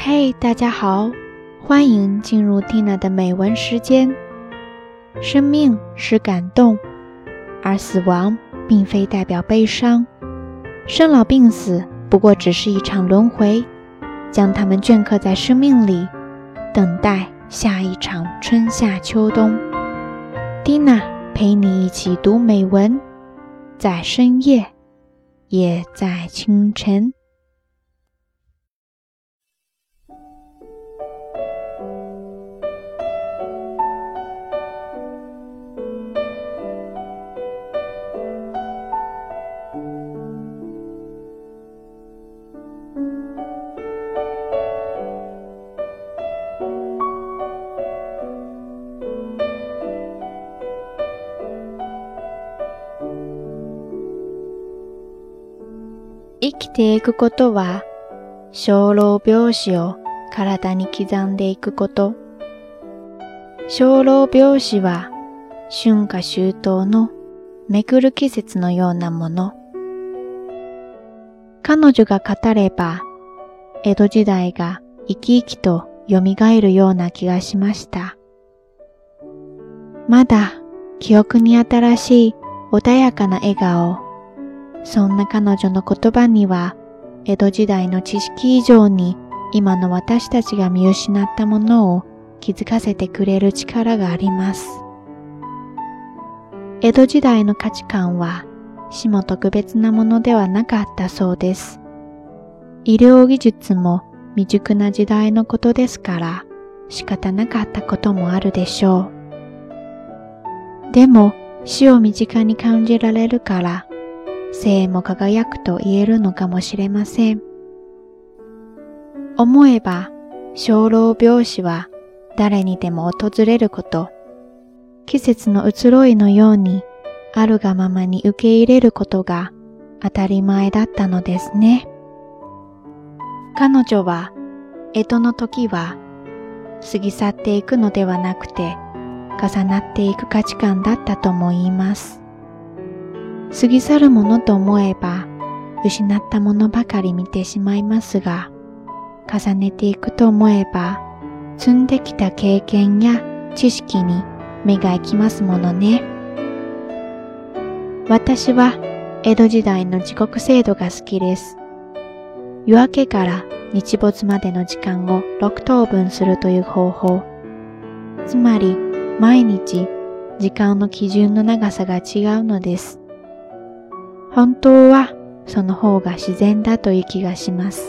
嘿，大家好，欢迎进入 Tina 的美文时间。生命是感动，而死亡并非代表悲伤。生老病死不过只是一场轮回，将它们镌刻在生命里，等待下一场春夏秋冬。Tina 陪你一起读美文，在深夜，也在清晨。生きていくことは、生老病死を体に刻んでいくこと。生老病死は、春夏秋冬のめくる季節のようなもの。彼女が語れば、江戸時代が生き生きと蘇るような気がしました。まだ記憶に新しい穏やかな笑顔。そんな彼女の言葉には、江戸時代の知識以上に今の私たちが見失ったものを気づかせてくれる力があります。江戸時代の価値観は死も特別なものではなかったそうです。医療技術も未熟な時代のことですから仕方なかったこともあるでしょう。でも死を身近に感じられるから生も輝くと言えるのかもしれません。思えば、生老病死は誰にでも訪れること、季節の移ろいのようにあるがままに受け入れることが当たり前だったのですね。彼女は、江戸の時は過ぎ去っていくのではなくて、重なっていく価値観だったとも言います。過ぎ去るものと思えば、失ったものばかり見てしまいますが、重ねていくと思えば、積んできた経験や知識に目が行きますものね。私は江戸時代の時刻制度が好きです。夜明けから日没までの時間を6等分するという方法。つまり、毎日時間の基準の長さが違うのです。本当はその方が自然だという気がします。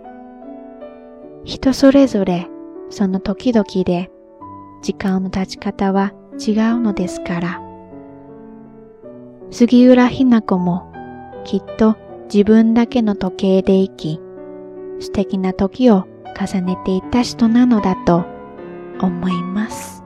人それぞれその時々で時間の経ち方は違うのですから。杉浦日向子もきっと自分だけの時計で生き、素敵な時を重ねていった人なのだと思います。